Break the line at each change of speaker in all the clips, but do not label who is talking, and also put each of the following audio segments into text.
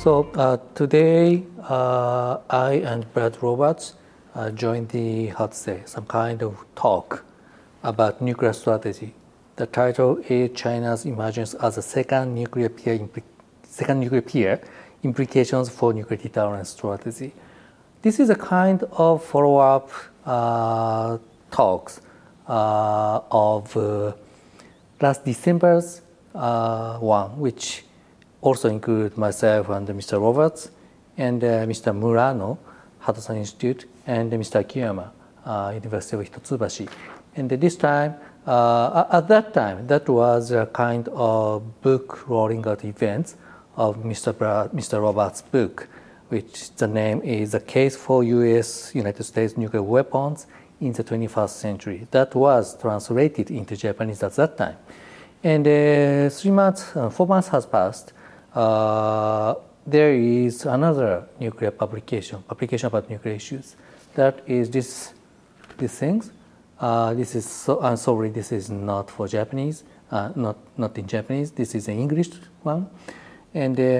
Today, I and Brad Roberts joined some kind of talk about nuclear strategy. The title is China's Emergence as a Second Nuclear Peer, Implications for Nuclear Deterrence Strategy. This is a kind of follow-up talks of last December's one, which also include myself and Mr. Roberts and Mr. Murano, Hadosan Institute, and Mr. Akiyama, University of Hitotsubashi. And this time, at that time, that was a kind of book rolling out events of Mr. Roberts' book, which the name is A Case for United States Nuclear Weapons in the 21st Century. That was translated into Japanese at that time. And 4 months has passed. There is another nuclear publication about nuclear issues. That is these things. This is I'm sorry, this is not for Japanese, not in Japanese. This is an English one, and the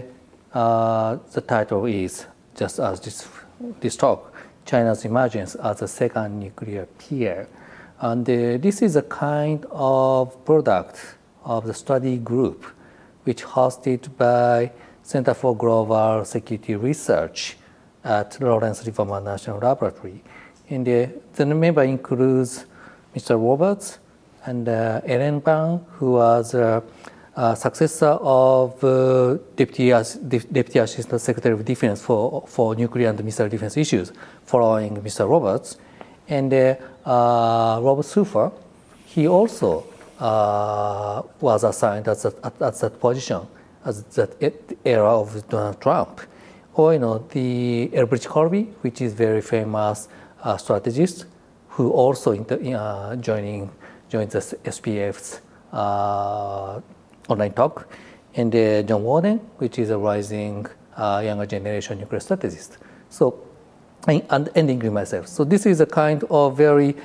title is just as this talk, China's Emergence as a Second Nuclear Peer, and this is a kind of product of the study group, which hosted by Center for Global Security Research at Lawrence Livermore National Laboratory. And the member includes Mr. Roberts and Ellen Ban, who was a successor of Deputy Assistant Secretary of Defense for nuclear and missile defense issues, following Mr. Roberts. And Robert Sufer, he also was assigned at that position as that era of Donald Trump. Or the Elbridge Colby, which is very famous strategist, who also joined the SPF's online talk, and John Warden, which is a rising younger generation nuclear strategist. So, and ending myself. So this is a kind of very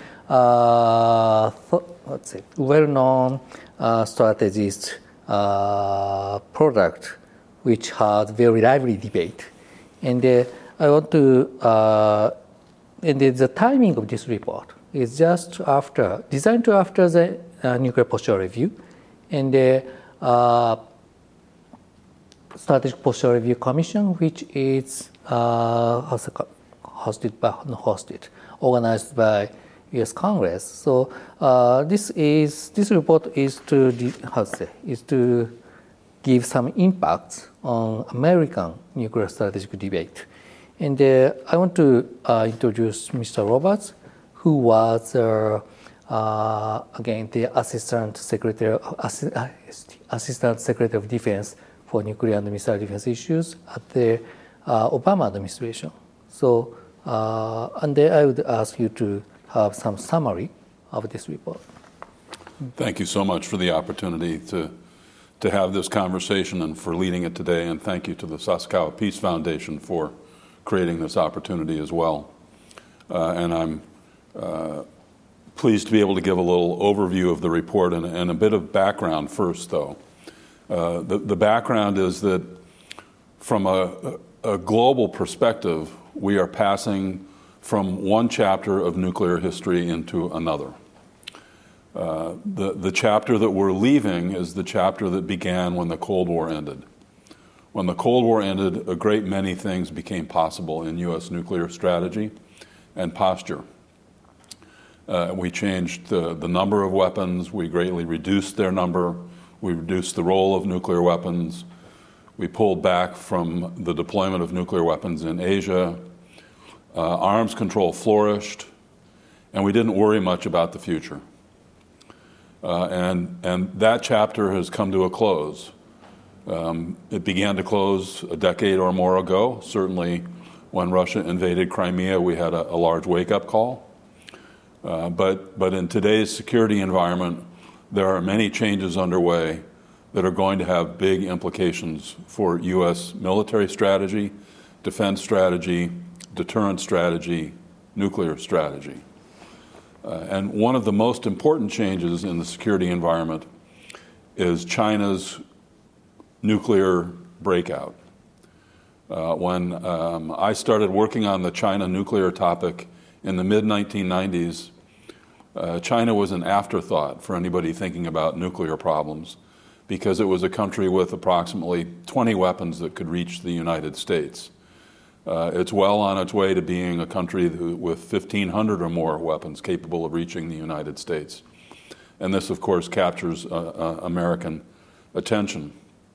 well-known strategist product, which has very lively debate. And I want to, and the timing of this report is just designed after the Nuclear Posture Review, and the Strategic Posture Review Commission, which is organized by U.S. Congress. So this report is to give some impacts on American nuclear strategic debate. And I want to introduce Mr. Roberts, who was again the Assistant Secretary of Defense for nuclear and missile defense issues at the Obama administration. So, and then I would ask you to have some summary of this report.
Thank you so much for the opportunity to have this conversation and for leading it today. And thank you to the Sasakawa Peace Foundation for creating this opportunity as well. And I'm pleased to be able to give a little overview of the report and a bit of background first, though. The background is that from a global perspective, we are passing from one chapter of nuclear history into another. The chapter that we're leaving is the chapter that began when the Cold War ended. When the Cold War ended, a great many things became possible in U.S. nuclear strategy and posture. We changed the number of weapons. We greatly reduced their number. We reduced the role of nuclear weapons. We pulled back from the deployment of nuclear weapons in Asia. Arms control flourished, and we didn't worry much about the future. And that chapter has come to a close. It began to close a decade or more ago. Certainly when Russia invaded Crimea, we had a large wake-up call. But in today's security environment, there are many changes underway that are going to have big implications for U.S. military strategy, defense strategy, deterrence strategy, nuclear strategy. And one of the most important changes in the security environment is China's nuclear breakout. When I started working on the China nuclear topic in the mid-1990s, China was an afterthought for anybody thinking about nuclear problems because it was a country with approximately 20 weapons that could reach the United States. It's well on its way to being a country with 1,500 or more weapons capable of reaching the United States. And this, of course, captures American attention.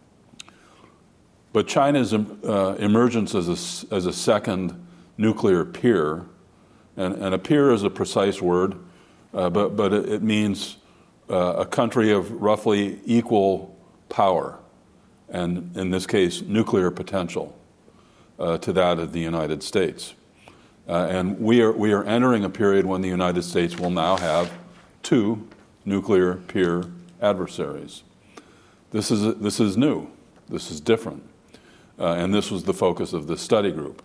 But China's emergence as a second nuclear peer, and a peer is a precise word, but it means a country of roughly equal power, and in this case, nuclear potential, to that of the United States. And we are entering a period when the United States will now have two nuclear peer adversaries. This is new. This is different. And this was the focus of this study group.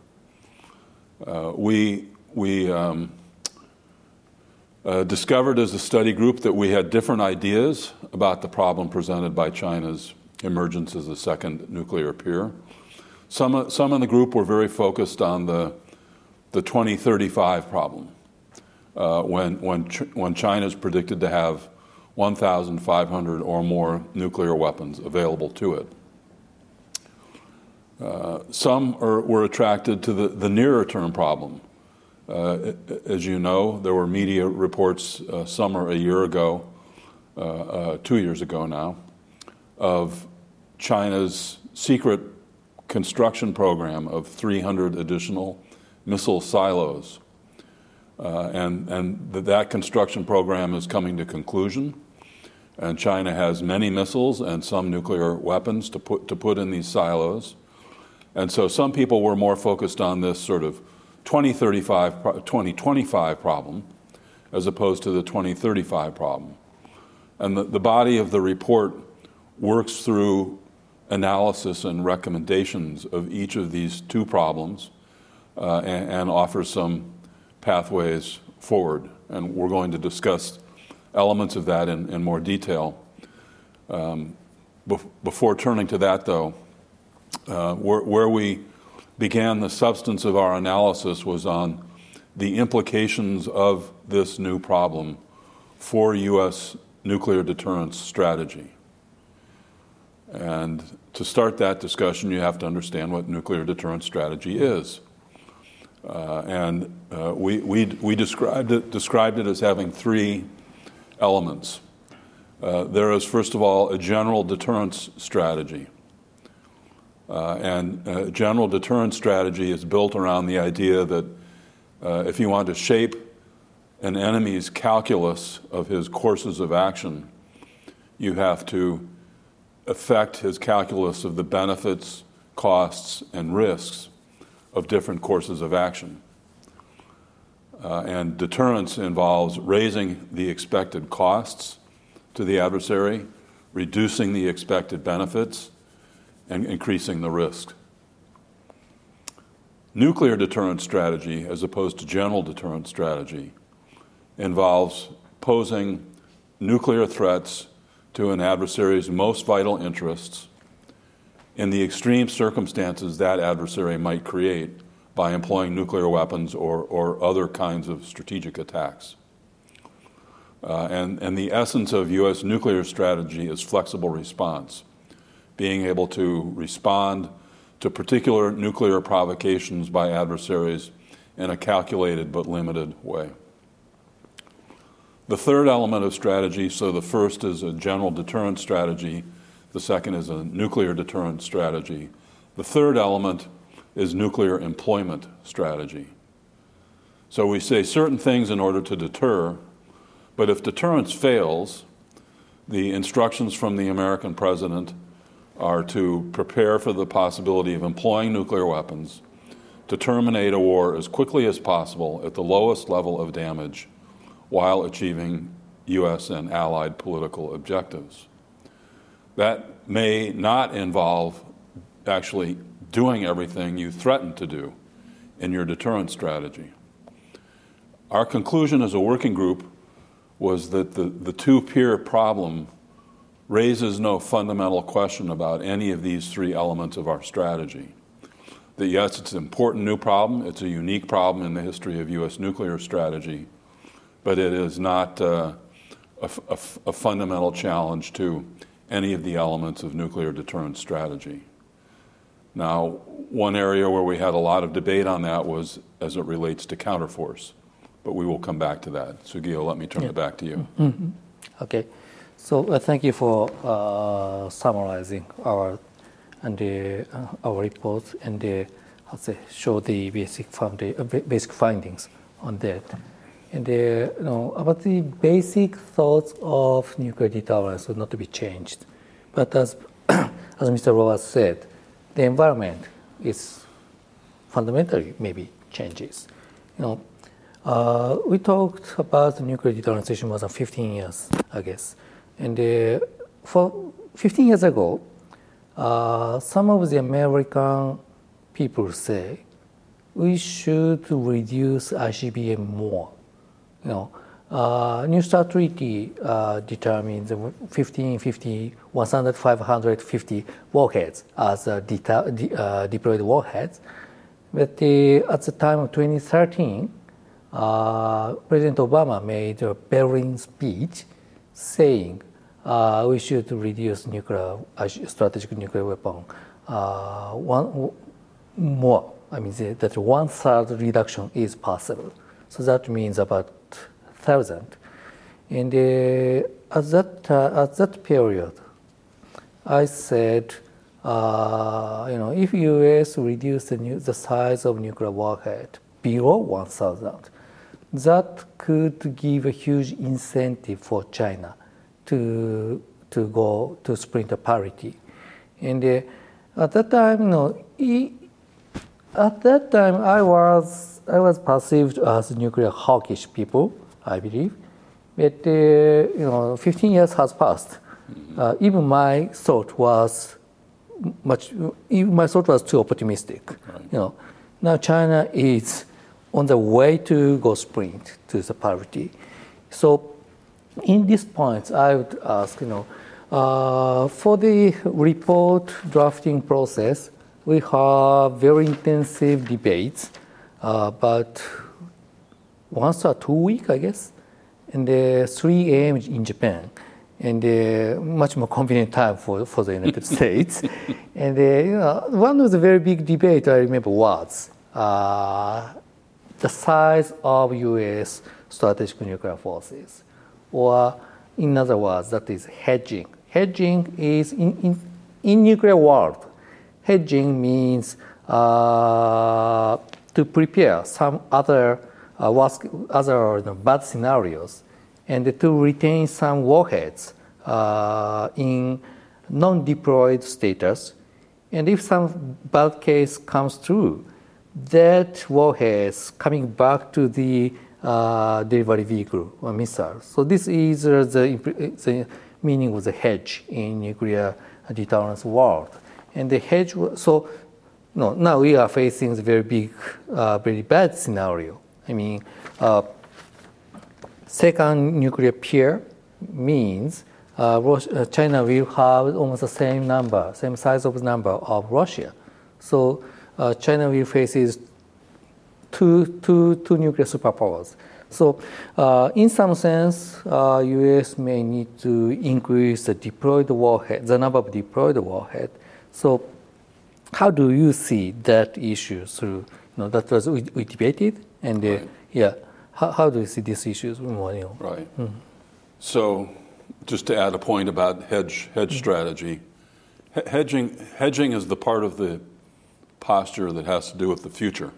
We discovered as a study group that we had different ideas about the problem presented by China's emergence as a second nuclear peer. Some in the group were very focused on the 2035 problem, when China is predicted to have 1,500 or more nuclear weapons available to it. Some were attracted to the nearer term problem. As you know, there were media reports some or a year ago, 2 years ago now, of China's secret construction program of 300 additional missile silos. And that construction program is coming to conclusion. And China has many missiles and some nuclear weapons to put in these silos. And so some people were more focused on this sort of 2025 problem as opposed to the 2035 problem. And the body of the report works through analysis and recommendations of each of these two problems and offers some pathways forward. And we're going to discuss elements of that in more detail. Before turning to that, though, where we began the substance of our analysis was on the implications of this new problem for U.S. nuclear deterrence strategy. And to start that discussion, you have to understand what nuclear deterrence strategy is. We described it as having three elements. There is, first of all, a general deterrence strategy. And general deterrence strategy is built around the idea that if you want to shape an enemy's calculus of his courses of action, you have to affect his calculus of the benefits, costs, and risks of different courses of action. And deterrence involves raising the expected costs to the adversary, reducing the expected benefits, and increasing the risk. Nuclear deterrence strategy, as opposed to general deterrence strategy, involves posing nuclear threats to an adversary's most vital interests in the extreme circumstances that adversary might create by employing nuclear weapons or other kinds of strategic attacks. And the essence of U.S. nuclear strategy is flexible response, being able to respond to particular nuclear provocations by adversaries in a calculated but limited way. The third element of strategy, so the first is a general deterrence strategy, the second is a nuclear deterrence strategy. The third element is nuclear employment strategy. So we say certain things in order to deter, but if deterrence fails, the instructions from the American president are to prepare for the possibility of employing nuclear weapons, to terminate a war as quickly as possible at the lowest level of damage while achieving U.S. and allied political objectives. That may not involve actually doing everything you threaten to do in your deterrence strategy. Our conclusion as a working group was that the two-peer problem raises no fundamental question about any of these three elements of our strategy. that yes, it's an important new problem. It's a unique problem in the history of U.S. nuclear strategy, but it is not a fundamental challenge to any of the elements of nuclear deterrence strategy. Now, one area where we had a lot of debate on that was as it relates to counterforce, but we will come back to that. Sugio, let me turn it back to you.
Mm-hmm. Okay, so thank you for summarizing our reports and show the basic findings on that. And about the basic thoughts of nuclear deterrence would not be changed, but as Mr. Roberts said, the environment is fundamentally maybe changes. We talked about the nuclear deterrence issue more than 15 years, I guess. And for 15 years ago, some of the American people say we should reduce ICBM more. New START Treaty determines 1,550, 550 warheads as deployed warheads. But at the time of 2013, President Obama made a Berlin speech saying we should reduce strategic nuclear weapon more. I mean, that 1/3 reduction is possible. So that means about 1,000. And at that period, I said, if U.S. reduce the size of nuclear warhead below 1,000, that could give a huge incentive for China to go to sprint parity. And at that time, I was perceived as nuclear hawkish people, I believe. But 15 years has passed. Even my thought was too optimistic.
Right.
Now China is on the way to go sprint to the parity. So in this point, I would ask, for the report drafting process, we have very intensive debates, about once or 2 weeks, I guess, and 3 a.m. in Japan, and much more convenient time for the United States. And one of the very big debate I remember was the size of U.S. strategic nuclear forces, or in other words, that is hedging. Hedging is in nuclear world. Hedging means to prepare some other bad scenarios, and to retain some warheads in non-deployed status. And if some bad case comes through, that warheads coming back to the delivery vehicle or missile. So this is the meaning of the hedge in nuclear deterrence world. And the hedge, now we are facing the very big, very bad scenario. I mean, second nuclear pair means China will have almost the same size of number of Russia. So China will face two nuclear superpowers. So in some sense, U.S. may need to increase the number of deployed warhead. So how do you see that issue through? That was we debated, and
right.
How do you see these issues more?
Right. Mm-hmm. So just to add a point about hedge strategy, hedging is the part of the posture that has to do with the future.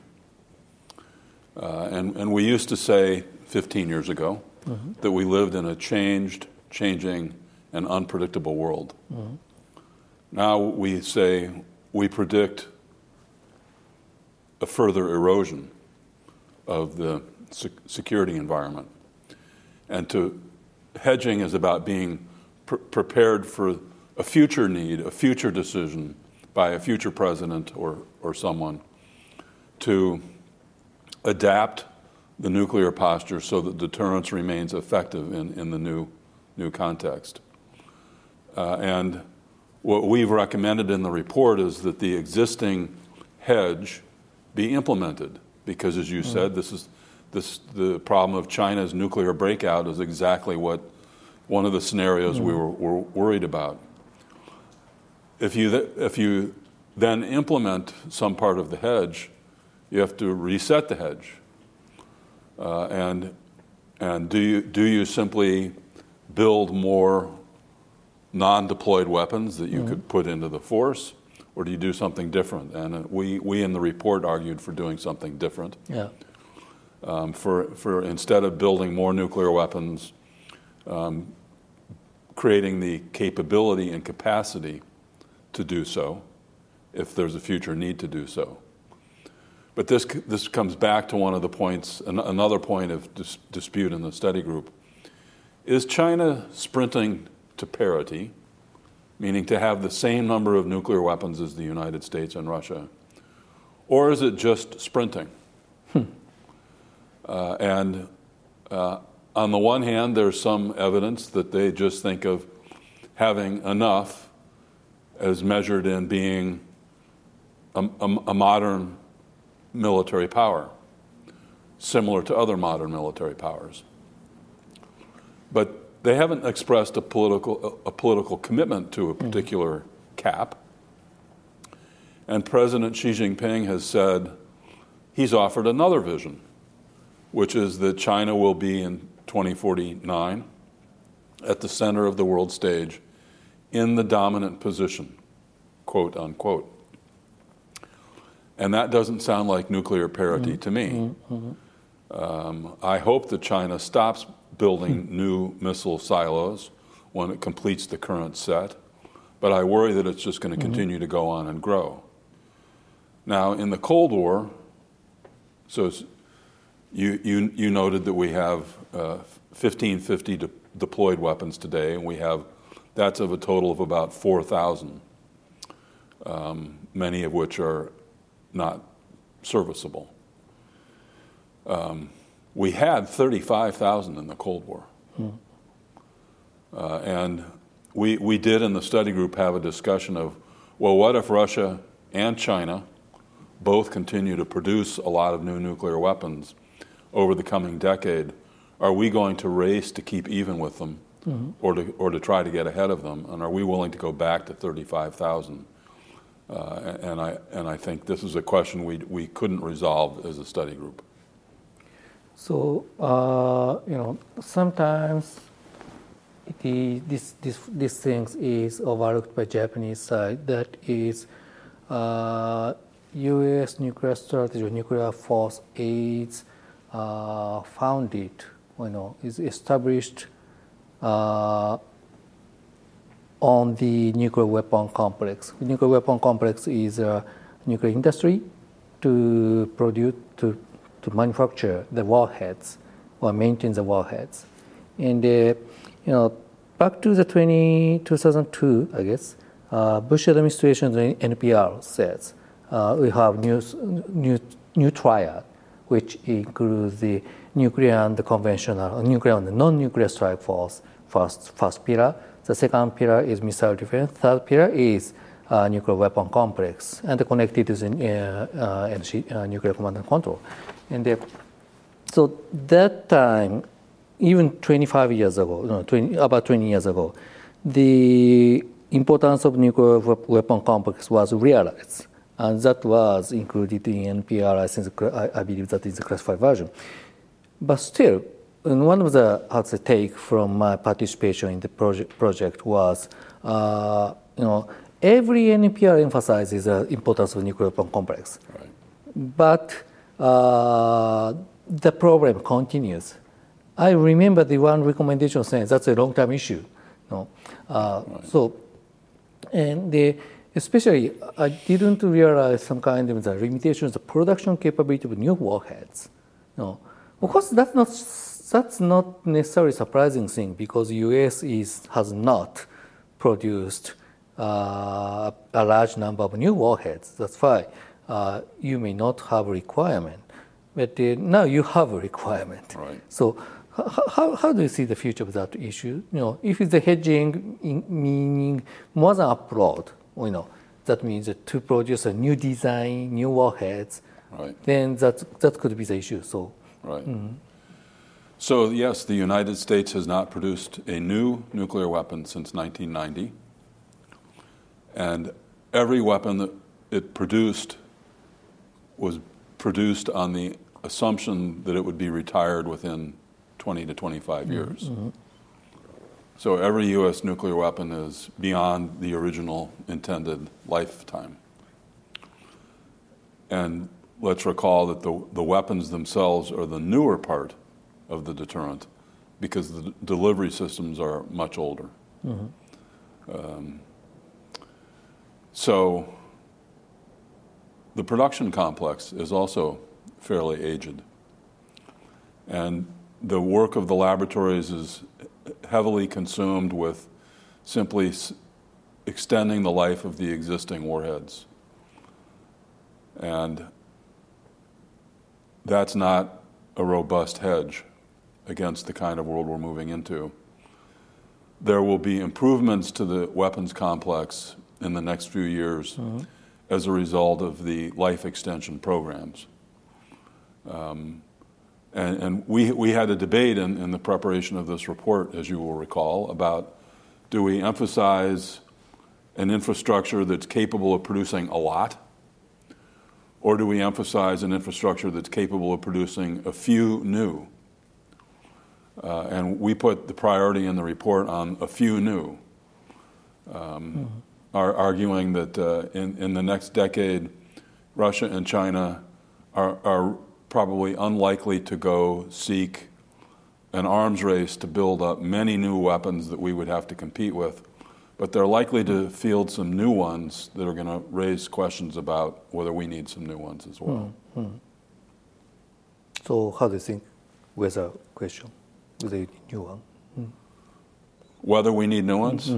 And we used to say 15 years ago that we lived in a changing, and unpredictable world. Mm-hmm. Now we say we predict a further erosion of the security environment. And hedging is about being prepared for a future need, a future decision by a future president or someone to adapt the nuclear posture so that deterrence remains effective in the new context. And what we've recommended in the report is that the existing hedge be implemented? Because, as you said, the problem of China's nuclear breakout is exactly what one of the scenarios we were worried about. If you then implement some part of the hedge, you have to reset the hedge. And do you simply build more non-deployed weapons that you could put into the force, or do you do something different? And we in the report argued for doing something different.
Yeah.
For instead of building more nuclear weapons, creating the capability and capacity to do so, if there's a future need to do so. But this comes back to one of the points, another point of dispute in the study group. Is China sprinting to parity, meaning to have the same number of nuclear weapons as the United States and Russia? Or is it just sprinting? And on the one hand, there's some evidence that they just think of having enough as measured in being a modern military power, similar to other modern military powers. But they haven't expressed a political commitment to a particular cap. And President Xi Jinping has said he's offered another vision, which is that China will be in 2049 at the center of the world stage in the dominant position, quote unquote. And that doesn't sound like nuclear parity to me. I hope that China stops building new missile silos when it completes the current set, but I worry that it's just going to continue to go on and grow. Now, in the Cold War, so you noted that we have 1,550 deployed weapons today, and that's of a total of about 4,000, many of which are not serviceable. We had 35,000 in the Cold War. And we did in the study group have a discussion of, well, what if Russia and China both continue to produce a lot of new nuclear weapons over the coming decade? Are we going to race to keep even with them or to try to get ahead of them? And are we willing to go back to 35,000? And I think this is a question we couldn't resolve as a study group.
So sometimes these things is overlooked by Japanese side. That is, U.S. nuclear strategy or nuclear force is founded, is established on the nuclear weapon complex. The nuclear weapon complex is a nuclear industry to produce, to manufacture the warheads or maintain the warheads. And back to the 2002, I guess, Bush administration's NPR says we have new triad, which includes the nuclear and the conventional, nuclear and the non-nuclear strike force. First pillar. The second pillar is missile defense. Third pillar is nuclear weapon complex and connected to the nuclear command and control. And so that time, even 25 years ago, about 20 years ago, the importance of nuclear weapon complex was realized. And that was included in NPR. I believe that is the classified version. But still, and one of the take from my participation in the project was, every NPR emphasizes the importance of nuclear weapon complex,
right.
But the problem continues. I remember the one recommendation saying that's a long-term issue. Right. So, and especially I didn't realize some kind of the limitations, the production capability of new warheads. Of course, that's not necessarily surprising thing because the U.S. has not produced a large number of new warheads. That's why you may not have a requirement, but now you have a requirement.
Right.
So how do you see the future of that issue? If it's the hedging meaning more than upload, that means to produce a new design, new warheads,
Right.
then that could be the issue. So,
Right. So, yes, the United States has not produced a new nuclear weapon since 1990. And every weapon that it produced was produced on the assumption that it would be retired within 20 to 25 years. So every U.S. nuclear weapon is beyond the original intended lifetime. And let's recall that the weapons themselves are the newer part of the deterrent because the delivery systems are much older. So the production complex is also fairly aged. And the work of the laboratories is heavily consumed with simply extending the life of the existing warheads. And that's not a robust hedge against the kind of world we're moving into. There will be improvements to the weapons complex in the next few years as a result of the life extension programs. And we had a debate in the preparation of this report, as you will recall, about do we emphasize an infrastructure that's capable of producing a lot, or do we emphasize an infrastructure that's capable of producing a few new? And we put the priority in the report on a few new, arguing that in the next decade, Russia and China are probably unlikely to go seek an arms race to build up many new weapons that we would have to compete with, but they're likely to field some new ones that are going to raise questions about whether we need some new ones as well.
So how do you think with a question, with a new one?
Whether we need new ones?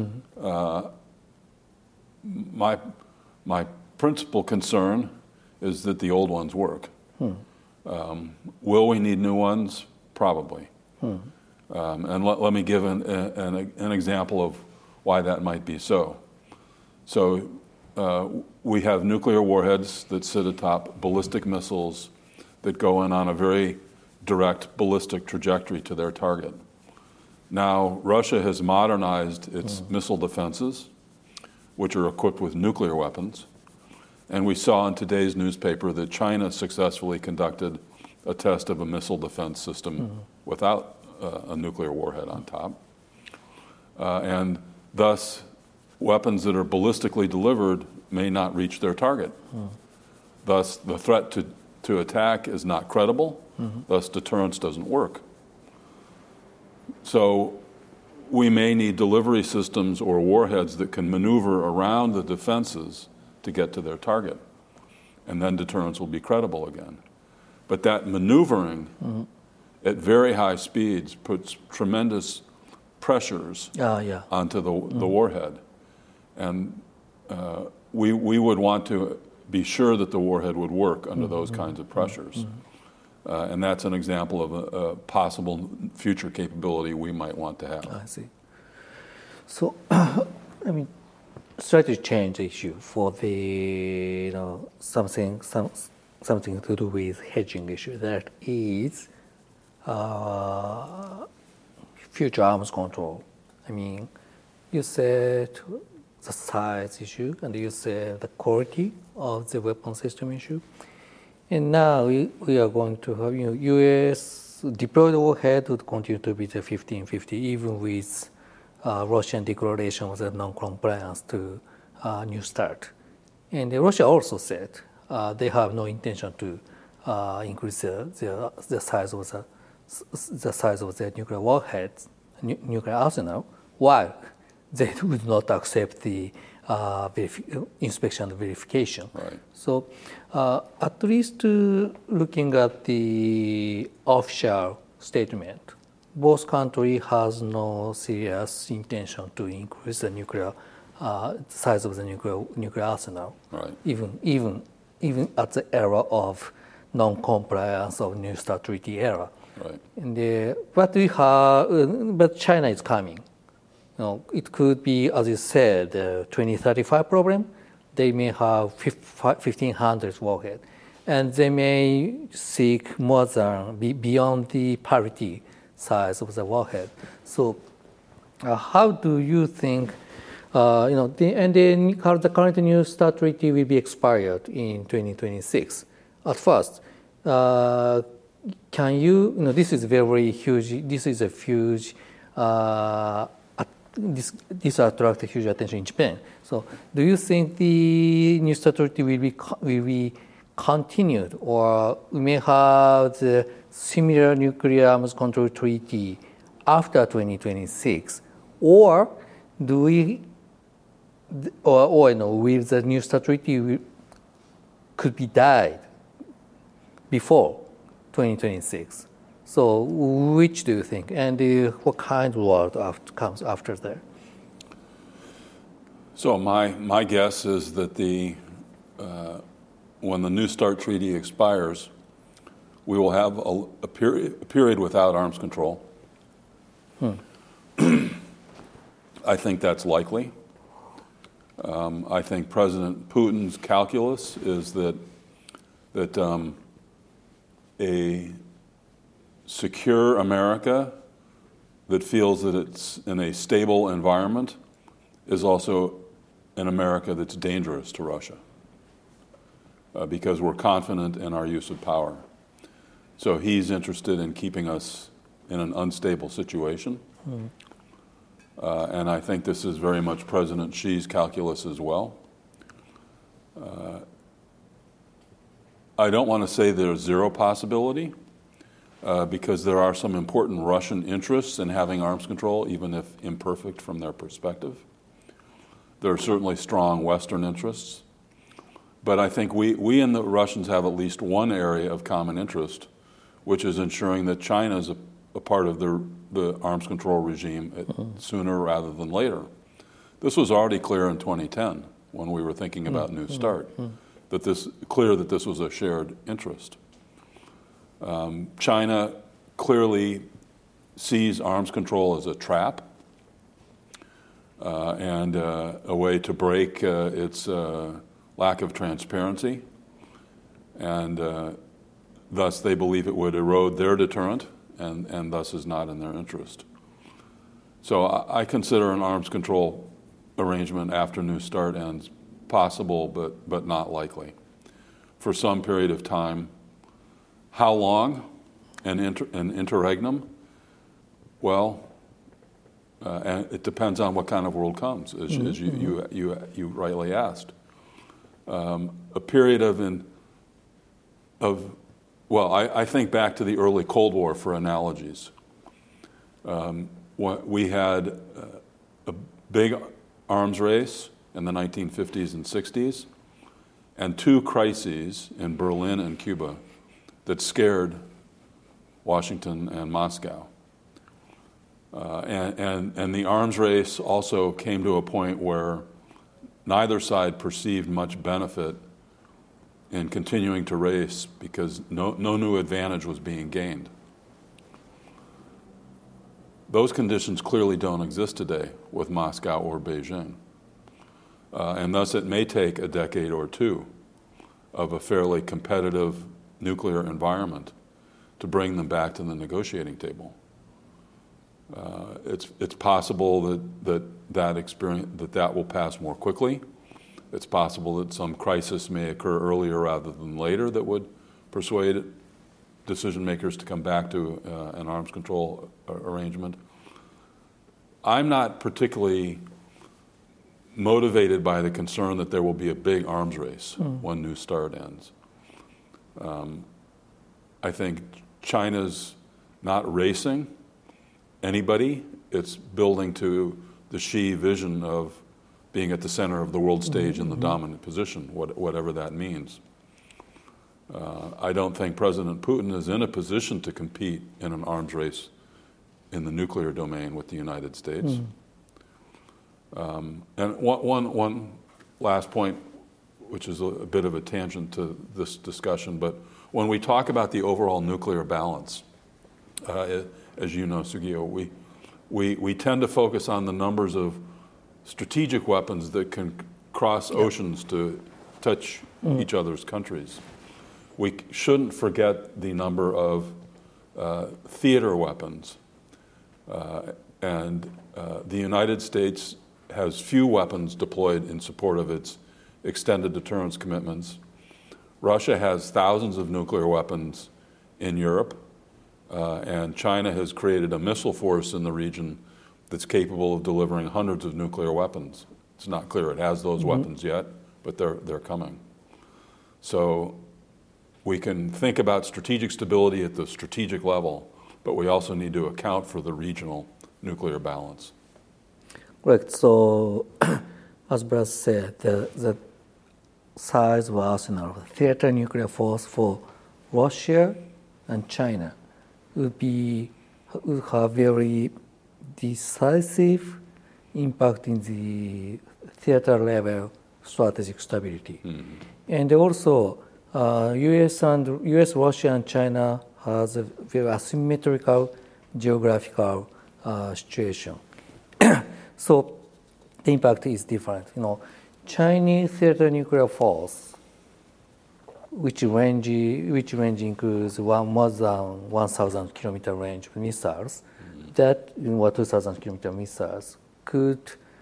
My principal concern is that the old ones work. Will we need new ones? Probably. And let me give an example of why that might be so. So we have nuclear warheads that sit atop ballistic missiles that go in on a very direct ballistic trajectory to their target. Now, Russia has modernized its missile defenses, which are equipped with nuclear weapons. And we saw in today's newspaper that China successfully conducted a test of a missile defense system without a nuclear warhead on top. And thus, weapons that are ballistically delivered may not reach their target. Thus, the threat to attack is not credible. Thus, deterrence doesn't work. So we may need delivery systems or warheads that can maneuver around the defenses to get to their target. And then deterrence will be credible again. But that maneuvering at very high speeds puts tremendous pressures onto the warhead. And we would want to be sure that the warhead would work under those kinds of pressures. And that's an example of a possible future capability we might want to have.
I see. So, I mean, strategy change issue for the something to do with hedging issue, that is future arms control. I mean, you said the size issue, and you said the quality of the weapon system issue. And now we are going to have, U.S. deployed warhead would continue to be the 1550, even with Russian declaration of the non-compliance to New START. And Russia also said they have no intention to increase the size of their nuclear warheads, nuclear arsenal, while they would not accept the inspection and verification.
Right.
So at least looking at the official statement, both countries has no serious intention to increase the nuclear size of the nuclear arsenal.
Right.
Even at the era of non-compliance of New START treaty era.
Right.
And but China is coming. It could be, as you said, 2035 problem, they may have 1,500 warhead, and they may seek more than beyond the parity size of the warhead. So, how do you think? The current New START treaty will be expired in 2026. At first, can you? This is very huge. This is a huge. This attracts huge attention in Japan. So, do you think the New START treaty will be continued, or we may have the similar nuclear arms control treaty after 2026, or do we? With the New START treaty, could be died before 2026. So, which do you think, and what kind of world comes after that?
So, my guess is that when the New START treaty expires, we will have a period without arms control. I think that's likely. I think President Putin's calculus is that a secure America that feels that it's in a stable environment is also an America that's dangerous to Russia because we're confident in our use of power. So he's interested in keeping us in an unstable situation. And I think this is very much President Xi's calculus as well. I don't want to say there's zero possibility because there are some important Russian interests in having arms control, even if imperfect from their perspective. There are certainly strong Western interests. But I think we and the Russians have at least one area of common interest, which is ensuring that China is a part of the arms control regime sooner rather than later. This was already clear in 2010 when we were thinking about New START, that this was a shared interest. China clearly sees arms control as a trap and a way to break its lack of transparency, and thus they believe it would erode their deterrent and thus is not in their interest. So I consider an arms control arrangement after New START ends possible, but not likely. For some period of time. How long? An interregnum? Well, and it depends on what kind of world comes, as you rightly asked. A period I think back to the early Cold War for analogies. We had a big arms race in the 1950s and 60s, and two crises in Berlin and Cuba that scared Washington and Moscow. And the arms race also came to a point where neither side perceived much benefit in continuing to race because no new advantage was being gained. Those conditions clearly don't exist today with Moscow or Beijing. And thus it may take a decade or two of a fairly competitive nuclear environment to bring them back to the negotiating table. It's possible that will pass more quickly. It's possible that some crisis may occur earlier rather than later that would persuade decision makers to come back to an arms control arrangement. I'm not particularly motivated by the concern that there will be a big arms race when New START ends. I think China's not racing anybody. It's building to the Xi vision of being at the center of the world stage in the dominant position, whatever that means. I don't think President Putin is in a position to compete in an arms race in the nuclear domain with the United States. And one last point, which is a bit of a tangent to this discussion, but when we talk about the overall nuclear balance, as you know, Sugio, we tend to focus on the numbers of strategic weapons that can cross oceans to touch each other's countries. We shouldn't forget the number of theater weapons. And the United States has few weapons deployed in support of its extended deterrence commitments. Russia has thousands of nuclear weapons in Europe, and China has created a missile force in the region that's capable of delivering hundreds of nuclear weapons. It's not clear it has those weapons yet, but they're coming. So we can think about strategic stability at the strategic level, but we also need to account for the regional nuclear balance.
Correct. So, as Brad said, the size of arsenal of theater nuclear force for Russia and China would have very decisive impact in the theater level strategic stability. And also, U.S., Russia, and China has a very asymmetrical geographical situation. So the impact is different. Chinese theater nuclear force, which range includes more than 1,000 kilometer range of missiles, that 2,000 kilometer missiles could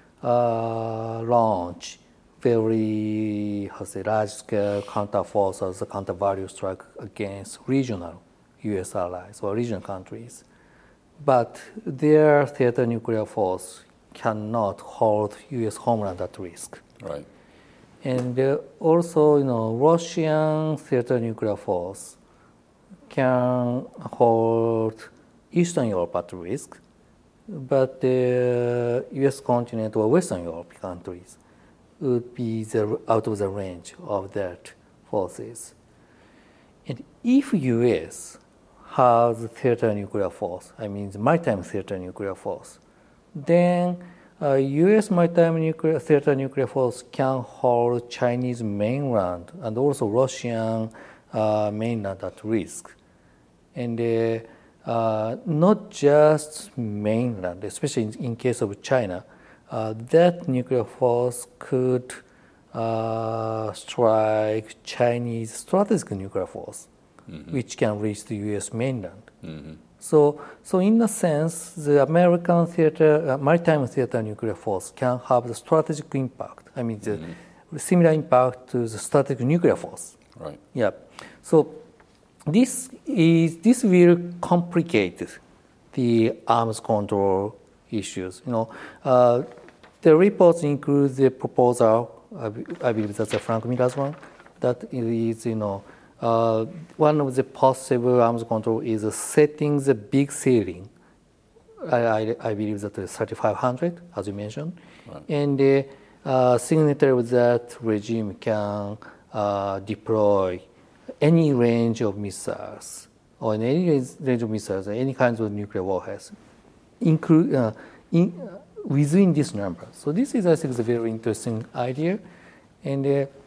launch very large-scale counter-forces, counter-value strike against regional U.S. allies or regional countries. But their theater nuclear force cannot hold U.S. homeland at risk.
Right.
And also, Russian theater nuclear force can hold Eastern Europe at risk, but the U.S. continent or Western Europe countries would be out of the range of that forces. And if U.S. has theater nuclear force, I mean the maritime theater nuclear force, then U.S. maritime theater nuclear force can hold Chinese mainland and also Russian mainland at risk. And not just mainland, especially in case of China, that nuclear force could strike Chinese strategic nuclear force, which can reach the U.S. mainland. So in a sense, the American maritime theater nuclear force can have the strategic impact. I mean, the similar impact to the strategic nuclear force.
Right.
Yeah. So this will complicate the arms control issues. The reports include the proposal. I believe that's a Frank Miller's one. That is, one of the possible arms control is setting the big ceiling. I believe that is 3,500, as you mentioned, right. And the signatory of that regime can deploy any range of missiles or any range of missiles, any kinds of nuclear warheads, within this number. So this is, I think, a very interesting idea, and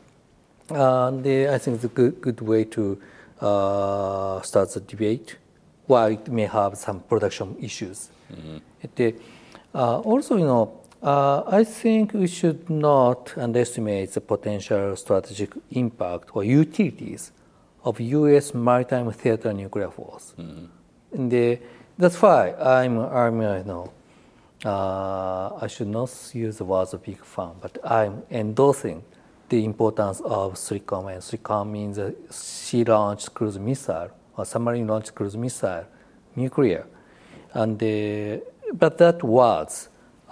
I think it's a good way to start the debate, while it may have some production issues. Also, I think we should not underestimate the potential strategic impact or utilities of U.S. maritime theater nuclear force. And that's why I should not use the words of big fan, but I'm endorsing the importance of SRICOM. And SRICOM means a sea-launched cruise missile or submarine-launched cruise missile, nuclear. And but that was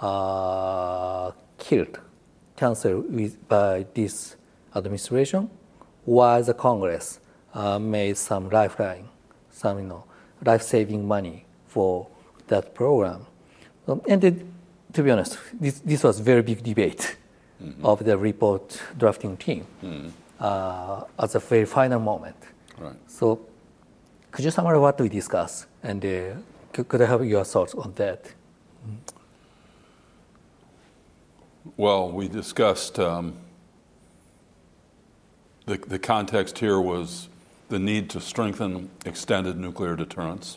canceled by this administration, while the Congress made some lifeline, some life-saving money for that program. And to be honest, this was a very big debate of the report drafting team at the very final moment.
Right.
So could you summarize what we discussed, and could I have your thoughts on that?
Well, we discussed the context here was the need to strengthen extended nuclear deterrence,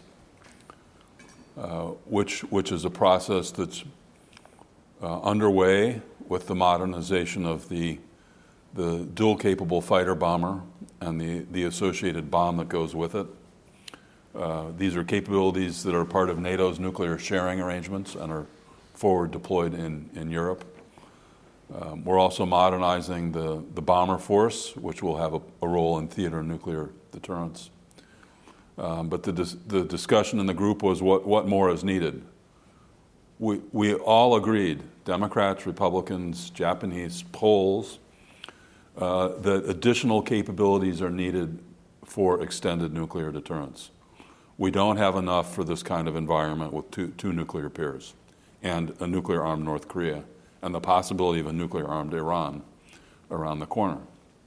which is a process that's underway with the modernization of the dual-capable fighter bomber and the associated bomb that goes with it. These are capabilities that are part of NATO's nuclear sharing arrangements and are forward deployed in Europe. We're also modernizing the bomber force, which will have a role in theater nuclear deterrence. But the discussion in the group was what more is needed. We all agreed, Democrats, Republicans, Japanese, Poles, that additional capabilities are needed for extended nuclear deterrence. We don't have enough for this kind of environment with two nuclear pairs and a nuclear-armed North Korea and the possibility of a nuclear-armed Iran around the corner.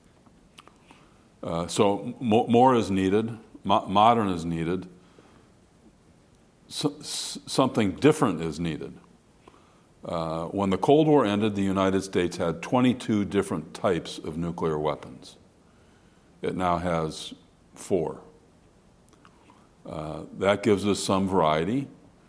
So more is needed, modern is needed, something different is needed. When the Cold War ended, the United States had 22 different types of nuclear weapons. It now has 4. That gives us some variety.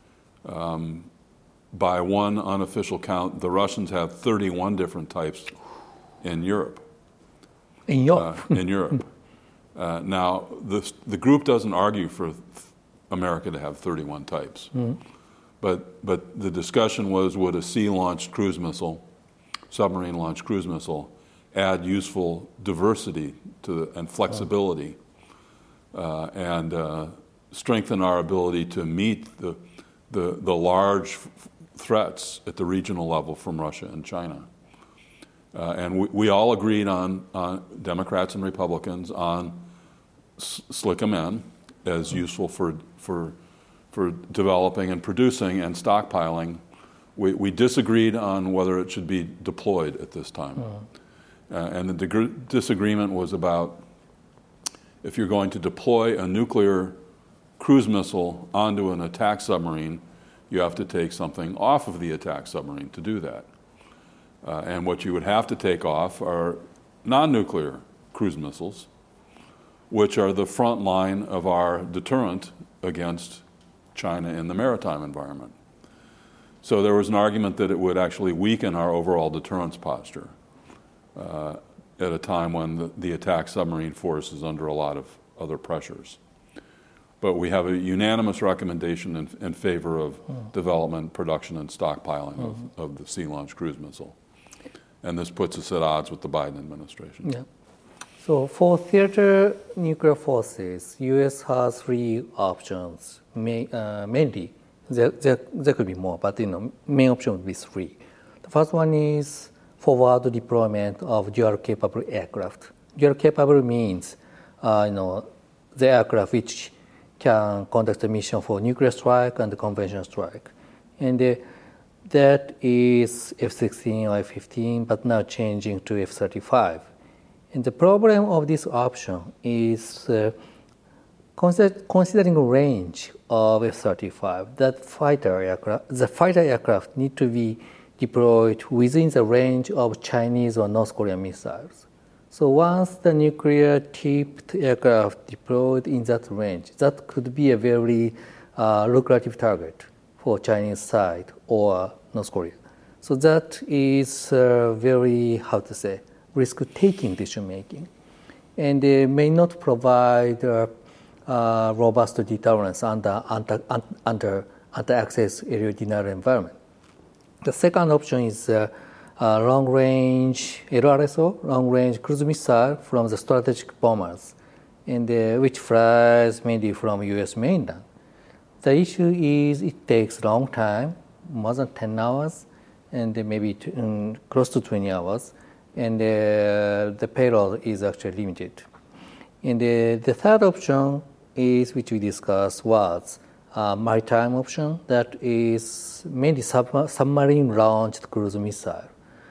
By one unofficial count, the Russians have 31 different types in Europe.
In Europe?
In Europe. Now, the group doesn't argue for America to have 31 types. Mm-hmm. But the discussion was, would a sea-launched cruise missile, submarine-launched cruise missile, add useful diversity and flexibility and strengthen our ability to meet the large threats at the regional level from Russia and China. And we all agreed on Democrats and Republicans on SLICM-N as useful for developing and producing and stockpiling. We disagreed on whether it should be deployed at this time. And the disagreement was about if you're going to deploy a nuclear cruise missile onto an attack submarine, you have to take something off of the attack submarine to do that. And what you would have to take off are non-nuclear cruise missiles, which are the front line of our deterrent against China in the maritime environment. So there was an argument that it would actually weaken our overall deterrence posture at a time when the attack submarine force is under a lot of other pressures. But we have a unanimous recommendation in favor of development, production, and stockpiling of the sea-launched cruise missile. And this puts us at odds with the Biden administration.
Yeah. So for theater nuclear forces, U.S. has 3 options. Mainly, there could be more, but main option would be 3. The first one is forward deployment of dual-capable aircraft. Dual-capable means, the aircraft which can conduct a mission for nuclear strike and conventional strike. And that is F-16 or F-15, but now changing to F-35. And the problem of this option is considering the range of F-35, the fighter aircraft need to be deployed within the range of Chinese or North Korean missiles. So once the nuclear-tipped aircraft deployed in that range, that could be a very lucrative target for Chinese side or North Korea. So that is very, risk-taking decision-making. And they may not provide robust deterrence under anti-access area denial environment. The second option is long-range LRSO, long-range cruise missile from the strategic bombers, and which flies mainly from U.S. mainland. The issue is it takes long time, more than 10 hours, and maybe close to 20 hours, and the payload is actually limited. And the third option is, which we discussed, was maritime option, that is mainly submarine-launched cruise missile.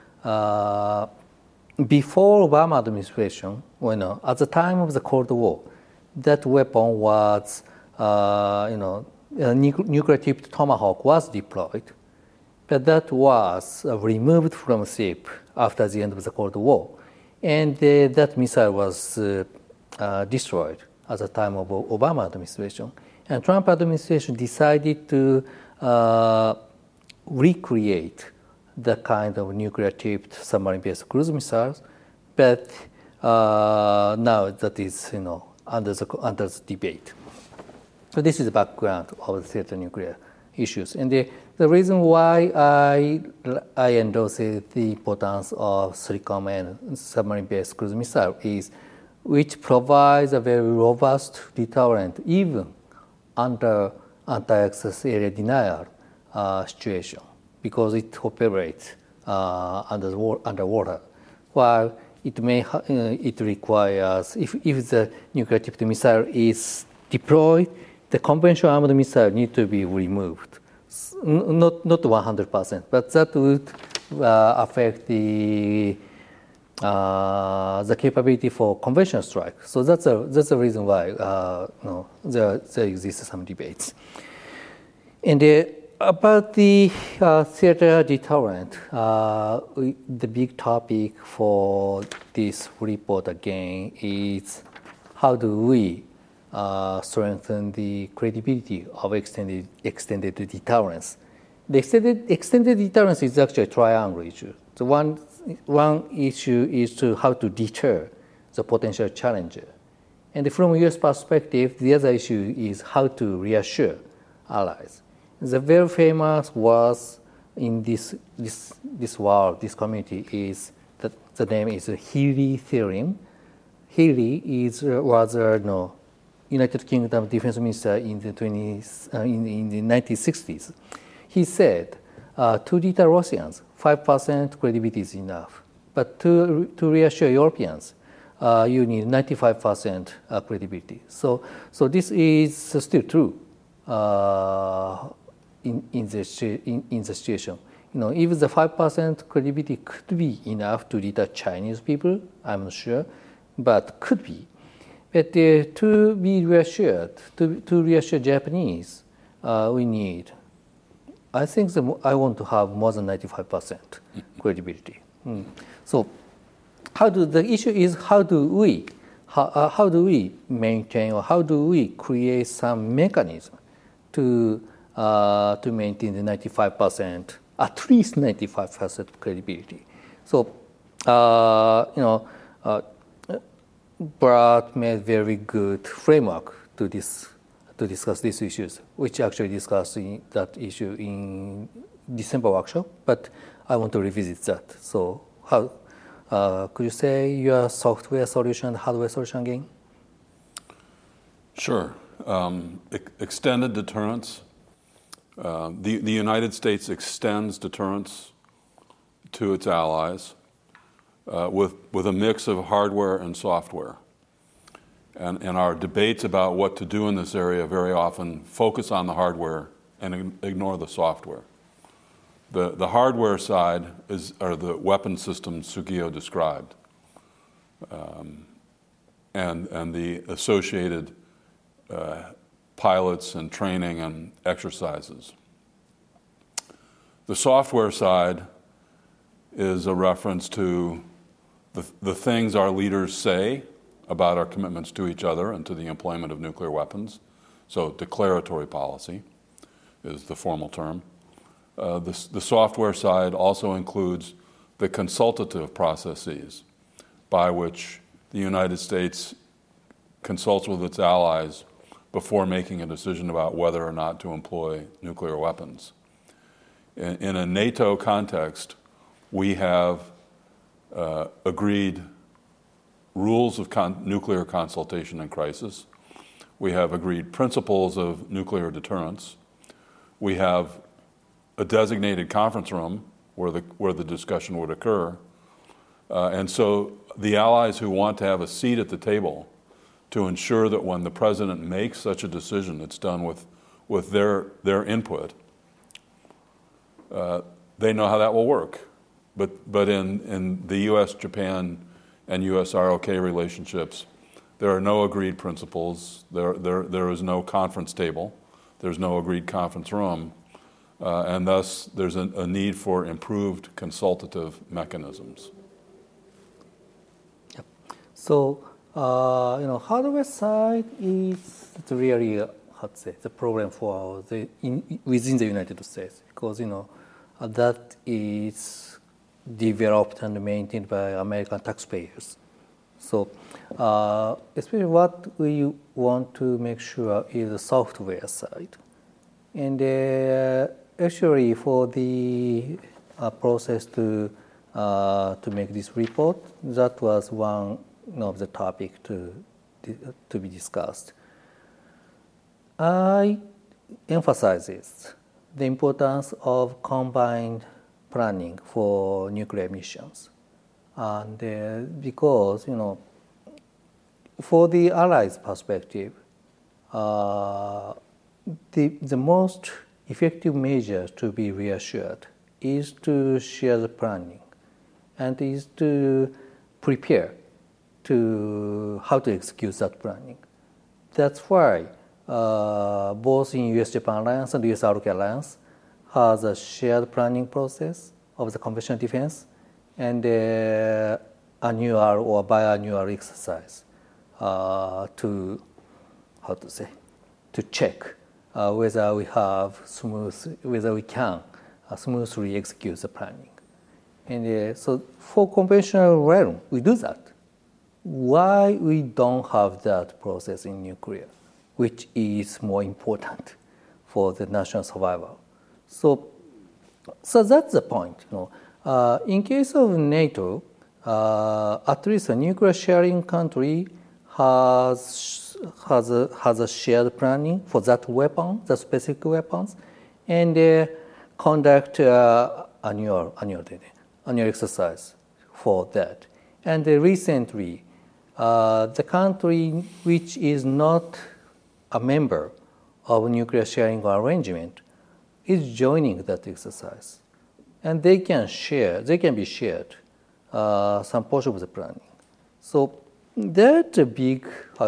Before Obama administration, at the time of the Cold War, that weapon was, nuclear-tipped Tomahawk was deployed, but that was removed from ship after the end of the Cold War, and that missile was destroyed at the time of Obama administration. And Trump administration decided to recreate the kind of nuclear-tipped submarine-based cruise missiles, but now that is under the debate. So this is the background of the theater nuclear issues, and the reason why I endorse the importance of SLICOM and submarine-based cruise missile is, which provides a very robust deterrent even under anti-access area denial situation, because it operates underwater, while it requires, if the nuclear-tipped missile is deployed, the conventional armed missile need to be removed. Not 100%, but that would affect the capability for conventional strike. So that's the reason why there exists some debates. And about the theater deterrent, the big topic for this report again is how do we strengthen the credibility of extended deterrence. The extended deterrence is actually a triangle issue. So one issue is how to deter the potential challenger. And from U.S. perspective, the other issue is how to reassure allies. The very famous was in this world, this community, is that the name is Healy theorem. Healy was United Kingdom defense minister in the 1960s. He said, to deter Russians, 5% credibility is enough. But to reassure Europeans, you need 95% credibility. So this is still true in the situation. If the 5% credibility could be enough to deter Chinese people, I'm not sure, but could be. But to be reassured, to reassure Japanese, we need, I think I want to have more than 95% credibility. So the issue is how do we maintain, or how do we create some mechanism to maintain the 95%, at least 95% credibility. So Brad made very good framework to discuss these issues, which actually discussed that issue in December workshop, but I want to revisit that. So how could you say your software solution and hardware solution again?
Sure. Extended deterrence. The United States extends deterrence to its allies with a mix of hardware and software. And our debates about what to do in this area very often focus on the hardware and ignore the software. The hardware side are the weapon systems Sugio described, and the associated pilots and training and exercises. The software side is a reference to the things our leaders say about our commitments to each other and to the employment of nuclear weapons. So declaratory policy is the formal term. The software side also includes the consultative processes by which the United States consults with its allies before making a decision about whether or not to employ nuclear weapons. In a NATO context, we have agreed rules of nuclear consultation and crisis. We have agreed principles of nuclear deterrence. We have a designated conference room where the discussion would occur. And so the allies who want to have a seat at the table to ensure that when the president makes such a decision, it's done with their input, they know how that will work. But in the U.S., Japan, and U.S. ROK relationships, there are no agreed principles. There is no conference table. There's no agreed conference room. And thus, there's a need for improved consultative mechanisms.
Yep. So, hardware side is really, the problem for within the United States, because that is developed and maintained by American taxpayers. So especially what we want to make sure is the software side. And actually for the process to make this report, that was one of the topics to be discussed. I emphasizes the importance of combined planning for nuclear missions. And because, for the Allies' perspective, the most effective measure to be reassured is to share the planning and is to prepare to how to execute that planning. That's why both in US-Japan Alliance and US-ROK Alliance has a shared planning process of the conventional defense and annual or biannual exercise to check whether we can smoothly execute the planning. And so for conventional realm, we do that. Why we don't have that process in nuclear, which is more important for the national survival? So that's the point. In case of NATO, at least a nuclear sharing country has a shared planning for that weapon, the specific weapons, and conduct annual exercise for that. And recently, the country which is not a member of a nuclear sharing arrangement is joining that exercise, and they can be shared some portion of the planning. So that's a big,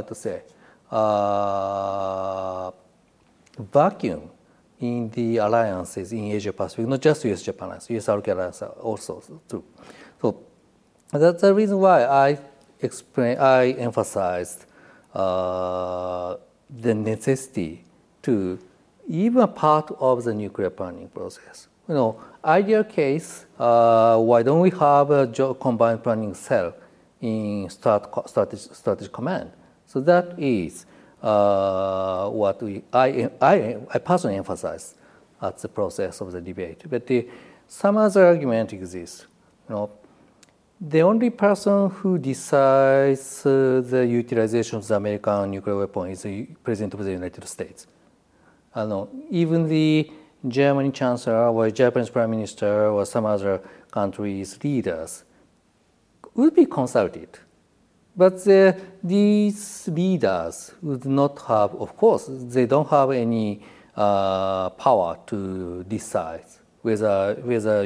vacuum in the alliances in Asia Pacific, not just US-Japan Alliance, US-ROK Alliance also too. So that's the reason why I emphasized the necessity to even part of the nuclear planning process. Ideal case, why don't we have a combined planning cell in strategic command? So that is what I personally emphasize at the process of the debate. But some other argument exists. The only person who decides the utilization of the American nuclear weapon is the President of the United States. Even the German Chancellor or Japanese Prime Minister or some other countries' leaders would be consulted. But these leaders would not have, of course, they don't have any power to decide whether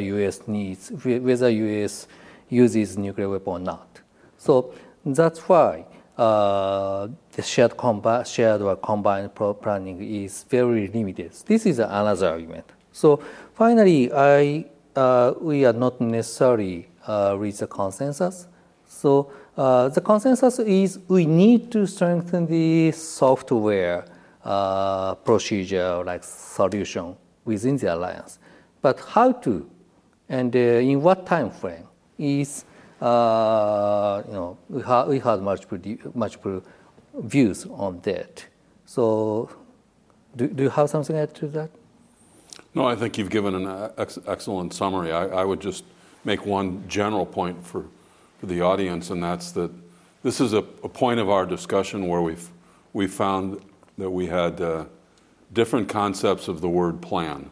US uses nuclear weapon or not. So that's why the shared or combined planning is very limited. This is another argument. So finally, we are not necessarily reach a consensus. So the consensus is we need to strengthen the software procedure like solution within the alliance. But how to and in what time frame is we had multiple views on that. So do you have something to add to that?
No, I think you've given an excellent summary. I would just make one general point for the audience, and that's that this is a point of our discussion where we found that we had different concepts of the word plan.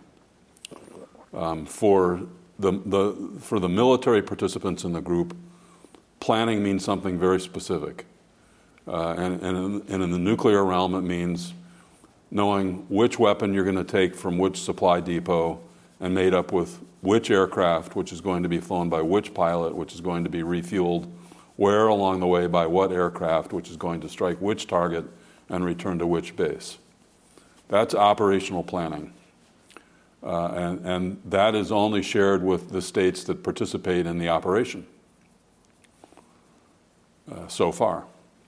For the military participants in the group, planning means something very specific. And in the nuclear realm, it means knowing which weapon you're going to take from which supply depot and made up with which aircraft, which is going to be flown by which pilot, which is going to be refueled, where along the way by what aircraft, which is going to strike which target and return to which base. That's operational planning. And that is only shared with the states that participate in the operation so far.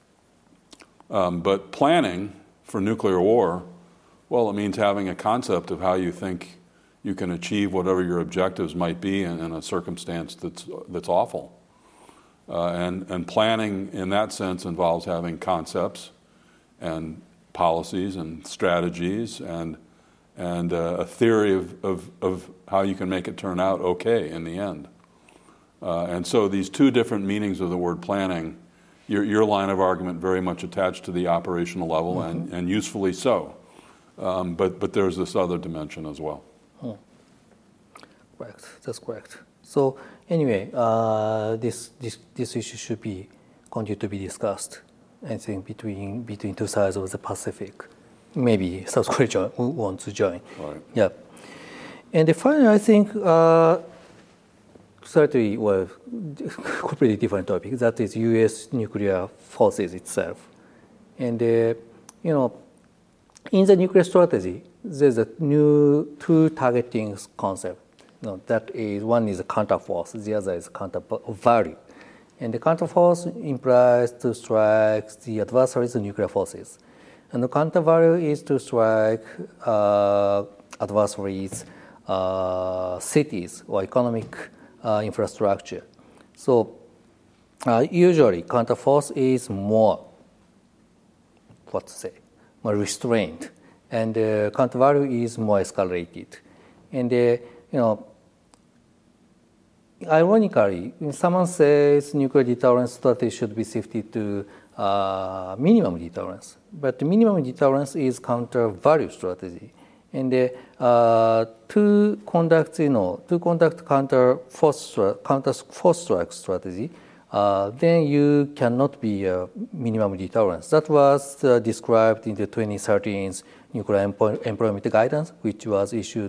But planning for nuclear war, well, it means having a concept of how you think you can achieve whatever your objectives might be in a circumstance that's awful. And planning in that sense involves having concepts and policies and strategies and a theory of how you can make it turn out okay in the end. And so these two different meanings of the word planning, your line of argument very much attached to the operational level, and usefully so. But there's this other dimension as well.
Correct. That's correct. So anyway, this issue should be continue to be discussed. I think between two sides of the Pacific. Maybe South Korea will want to join.
Right.
Yeah. And finally, I think certainly, well, completely different topic. That is U.S. nuclear forces itself. And in the nuclear strategy, there's a new two targeting concept. That is, one is a counterforce, the other is counter value. And the counterforce implies to strike the adversary's nuclear forces. And the counter value is to strike adversaries' cities or economic infrastructure. So usually counterforce is more, more restrained, and counter value is more escalated. And ironically, when someone says nuclear deterrence strategy should be shifted to minimum deterrence, but minimum deterrence is counter value strategy. And to conduct counter force strike strategy, then you cannot be a minimum deterrence. That was described in the 2013 nuclear employment guidance, which was issued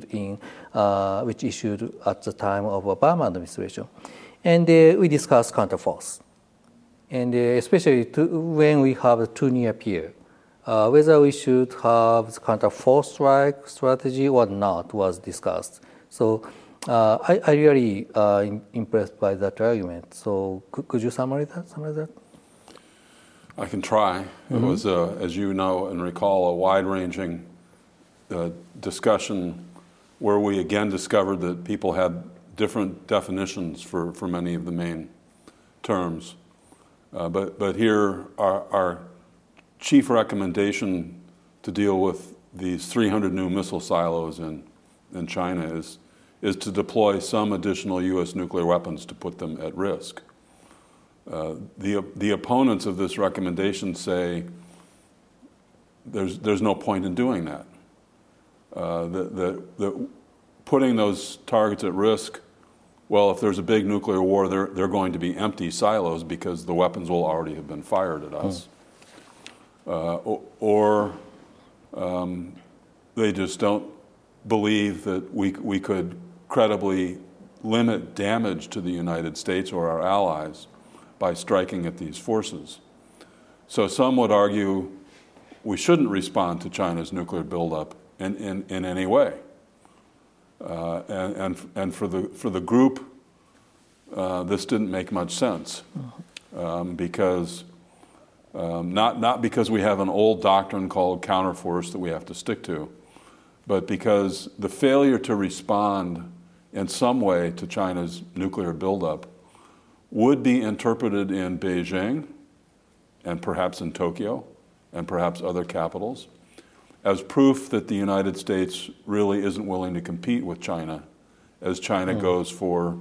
at the time of Obama administration. And we discussed counterforce, and especially when we have two near peer, whether we should have the counter-force strike strategy or not was discussed. So I really impressed by that argument. So could you summarize that?
I can try. It was, as you know and recall, a wide-ranging discussion where we again discovered that people had different definitions for many of the main terms. But here our chief recommendation to deal with these 300 new missile silos in China is to deploy some additional U.S. nuclear weapons to put them at risk. The opponents of this recommendation say there's no point in doing that. That putting those targets at risk, well, if there's a big nuclear war, they're going to be empty silos because the weapons will already have been fired at us. Or they just don't believe that we could credibly limit damage to the United States or our allies by striking at these forces. So some would argue we shouldn't respond to China's nuclear buildup in any way. And for the group, this didn't make much sense because not because we have an old doctrine called counterforce that we have to stick to, but because the failure to respond in some way to China's nuclear buildup would be interpreted in Beijing and perhaps in Tokyo and perhaps other capitals as proof that the United States really isn't willing to compete with China as China goes for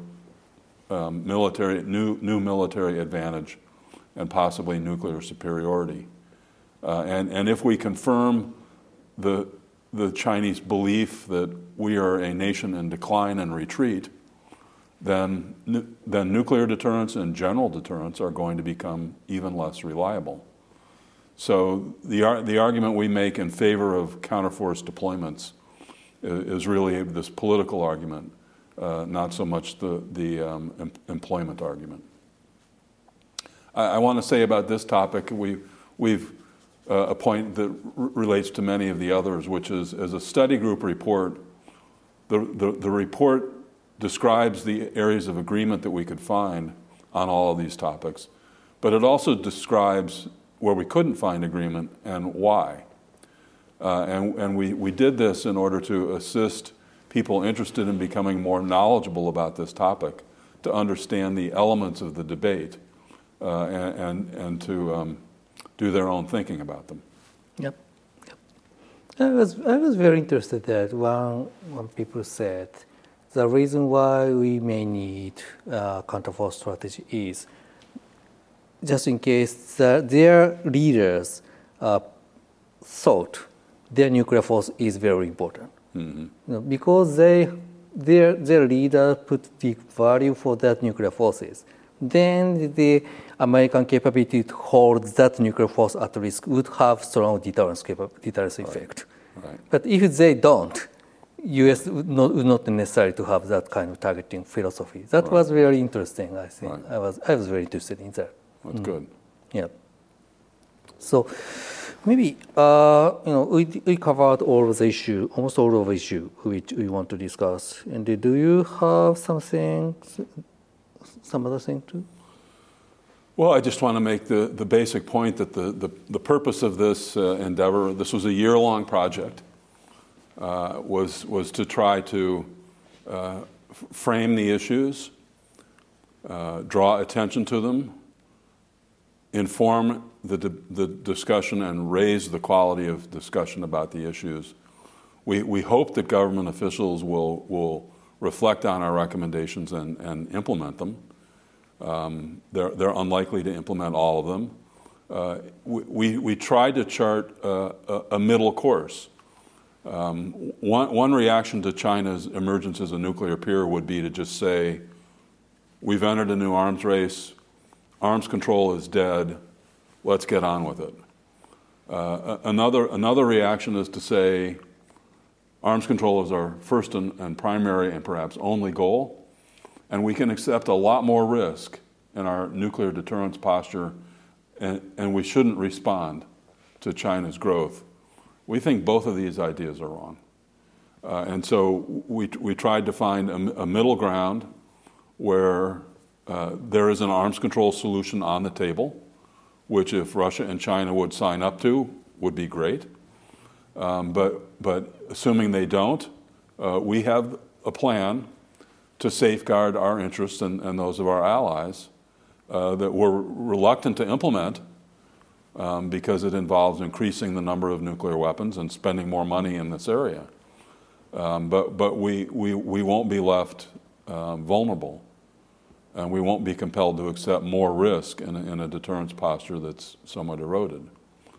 new military advantage and possibly nuclear superiority. And if we confirm the Chinese belief that we are a nation in decline and retreat, then nuclear deterrence and general deterrence are going to become even less reliable. So the argument we make in favor of counterforce deployments is really this political argument, not so much the employment argument. I want to say about this topic, we've a point that relates to many of the others, which is as a study group report, the report describes the areas of agreement that we could find on all of these topics, but it also describes where we couldn't find agreement and why. And we did this in order to assist people interested in becoming more knowledgeable about this topic to understand the elements of the debate and to do their own thinking about them.
Yep. I was very interested that when people said the reason why we may need counterforce strategy is just in case their leaders thought their nuclear force is very important. Mm-hmm. Because their leader put big value for that nuclear forces, then the American capability to hold that nuclear force at risk would have strong deterrence effect. Right. But if they don't, U.S. would not necessarily to have that kind of targeting philosophy. That was very interesting, I think. Right. I was very interested in that.
That's good.
Yeah. So maybe we covered all of the issue, almost all of the issue which we want to discuss. And do you have some other thing too?
Well, I just want to make the basic point that the purpose of this endeavor, this was a year-long project, was to try to frame the issues, draw attention to them, inform the discussion, and raise the quality of discussion about the issues. We hope that government officials will reflect on our recommendations and implement them. They're unlikely to implement all of them. We tried to chart a middle course. One reaction to China's emergence as a nuclear peer would be to just say, we've entered a new arms race, arms control is dead, let's get on with it. Another reaction is to say, arms control is our first and primary and perhaps only goal, and we can accept a lot more risk in our nuclear deterrence posture, and we shouldn't respond to China's growth. We think both of these ideas are wrong. And so we tried to find a middle ground where there is an arms control solution on the table, which if Russia and China would sign up to, would be great. But assuming they don't, we have a plan to safeguard our interests and those of our allies that we're reluctant to implement because it involves increasing the number of nuclear weapons and spending more money in this area. But we won't be left vulnerable, and we won't be compelled to accept more risk in a deterrence posture that's somewhat eroded.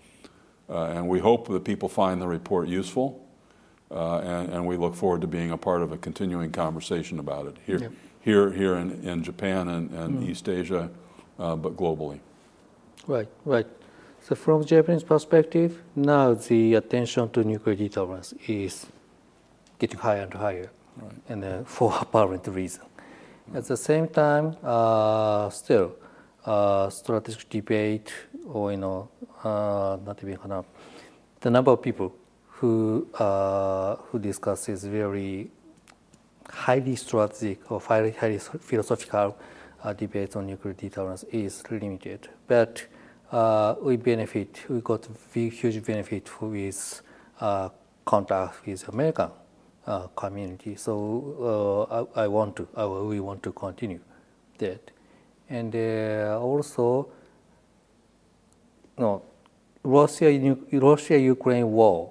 And we hope that people find the report useful, and we look forward to being a part of a continuing conversation about it here in Japan and East Asia, but globally.
Right. So from Japanese perspective, now the attention to nuclear deterrence is getting higher and higher, and for apparent reason. At the same time, still, strategic debate, or not even the number of people who discusses very highly strategic or highly philosophical debates on nuclear deterrence is limited. But we got huge benefit with contact with American community. So we want to continue that. And also, Russia-Ukraine war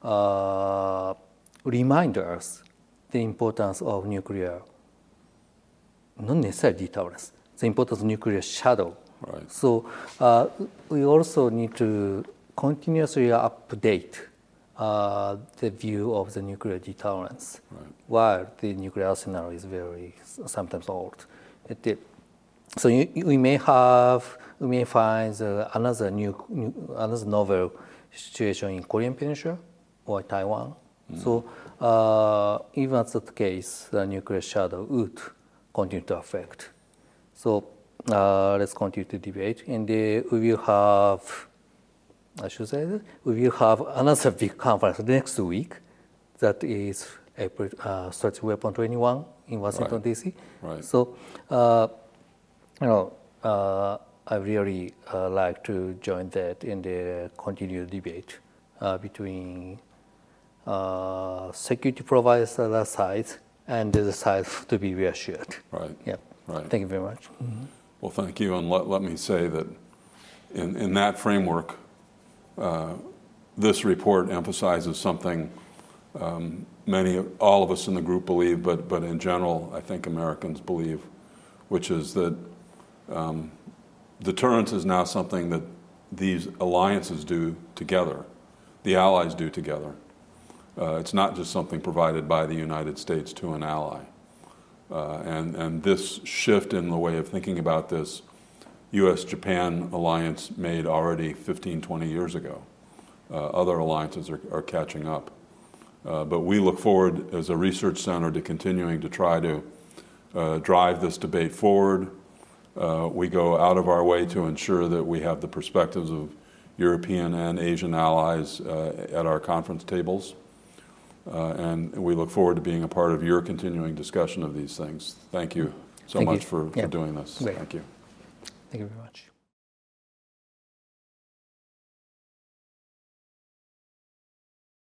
remind us the importance of nuclear, not necessarily deterrence, the importance of nuclear shadow.
Right.
So we also need to continuously update the view of the nuclear deterrence, while the nuclear arsenal is very sometimes old. So we may find another novel situation in Korean Peninsula or Taiwan. So even at that case, the nuclear shadow would continue to affect. So let's continue to debate, and we will have, another big conference next week. That is April Strategic Weapon 21 in Washington D.C.
Right.
So I really like to join that in the continued debate between security providers on that side and the side to be reassured.
Right.
Yeah.
Right.
Thank you very much.
Well, thank you. And let me say that in that framework, this report emphasizes something all of us in the group believe, but in general, I think Americans believe, which is that deterrence is now something that these alliances do together, the allies do together. It's not just something provided by the United States to an ally. And this shift in the way of thinking about this, U.S.-Japan alliance made already 15, 20 years ago. Other alliances are catching up. But we look forward as a research center to continuing to try to drive this debate forward. We go out of our way to ensure that we have the perspectives of European and Asian allies at our conference tables. And we look forward to being a part of your continuing discussion of these things. Thank you so much for doing this.
Great.
Thank you.
Thank you very much.